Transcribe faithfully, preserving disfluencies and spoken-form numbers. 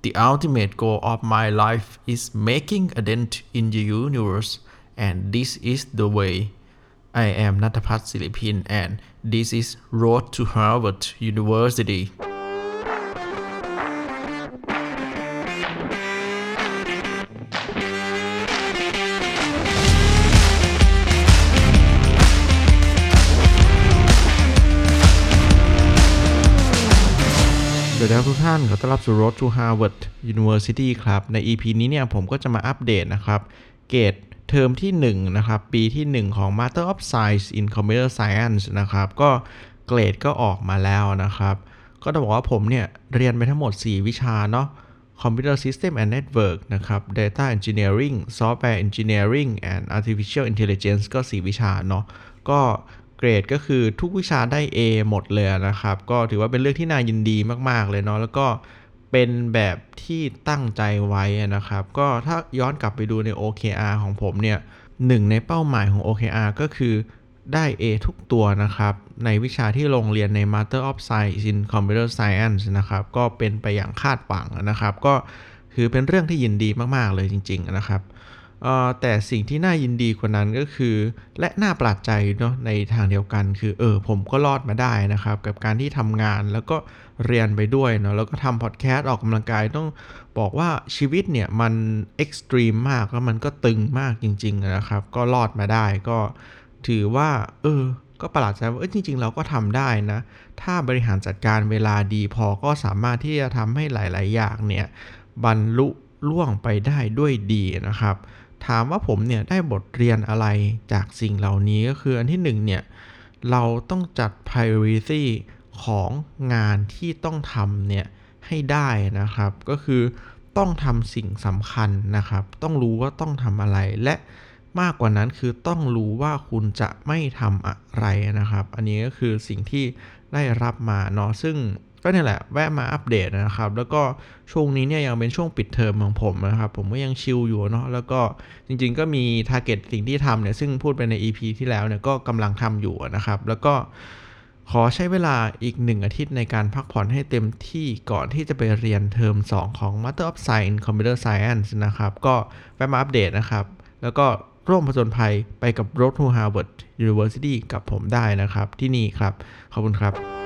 The ultimate goal of my life is making a dent in the universe and this is the way I am ณัฐพัฒน์ศิริพิน and this is Road to Harvard Universityสวัสดีครับทุกท่านขอต้อนรับสู่ Road to Harvard University ครับใน อี พี นี้เนี่ยผมก็จะมาอัปเดตนะครับเกรดเทอมที่หนึ่งนะครับปีที่หนึ่งของ Master of Science in Computer Science นะครับก็เกรดก็ออกมาแล้วนะครับก็ต้องบอกว่าผมเนี่ยเรียนไปทั้งหมดสี่วิชาเนาะ Computer System and Network นะครับ Data Engineering Software Engineering and Artificial Intelligence ก็สี่วิชาเนาะก็เกรดก็คือทุกวิชาได้ A หมดเลยนะครับก็ถือว่าเป็นเรื่องที่น่ายินดีมากๆเลยเนาะแล้วก็เป็นแบบที่ตั้งใจไว้นะครับก็ถ้าย้อนกลับไปดูใน โอ เค อาร์ ของผมเนี่ยหนึ่งในเป้าหมายของ โอ เค อาร์ ก็คือได้ A ทุกตัวนะครับในวิชาที่ลงเรียนใน Master of Science in Computer Science นะครับก็เป็นไปอย่างคาดหวังนะครับก็คือเป็นเรื่องที่ยินดีมากๆเลยจริงๆนะครับเอ่อแต่สิ่งที่น่ายินดีกว่านั้นก็คือและน่าประหลาดใจเนาะในทางเดียวกันคือเออผมก็รอดมาได้นะครับกับการที่ทำงานแล้วก็เรียนไปด้วยเนาะแล้วก็ทำพอดแคสต์ออกกำลังกายต้องบอกว่าชีวิตเนี่ยมันเอ็กซ์ตรีมมากแล้วมันก็ตึงมากจริงๆนะครับก็รอดมาได้ก็ถือว่าเออก็ประหลาดใจว่าเออจริงๆเราก็ทำได้นะถ้าบริหารจัดการเวลาดีพอก็สามารถที่จะทำให้หลายๆอย่างเนี่ยบรรลุล่วงไปได้ด้วยดีนะครับถามว่าผมเนี่ยได้บทเรียนอะไรจากสิ่งเหล่านี้ก็คืออันที่หนึ่งเนี่ยเราต้องจัด priority ของงานที่ต้องทำเนี่ยให้ได้นะครับก็คือต้องทำสิ่งสำคัญนะครับต้องรู้ว่าต้องทำอะไรและมากกว่านั้นคือต้องรู้ว่าคุณจะไม่ทำอะไรนะครับอันนี้ก็คือสิ่งที่ได้รับมาเนาะซึ่งก็เนี่ยแหละแวะมาอัปเดตนะครับแล้วก็ช่วงนี้เนี่ยยังเป็นช่วงปิดเทอมของผมนะครับผมก็ยังชิลอยู่เนาะแล้วก็จริงๆก็มีทาร์เก็ตสิ่งที่ทำเนี่ยซึ่งพูดไปใน อี พี ที่แล้วเนี่ยก็กำลังทำอยู่นะครับแล้วก็ขอใช้เวลาอีกหนึ่งอาทิตย์ในการพักผ่อนให้เต็มที่ก่อนที่จะไปเรียนเทอมสองของ Master of Science in Computer Science นะครับก็แวะมาอัปเดตนะครับแล้วก็ร่วมผจญภัยไปกับ Road to Harvard University กับผมได้นะครับที่นี่ครับขอบคุณครับ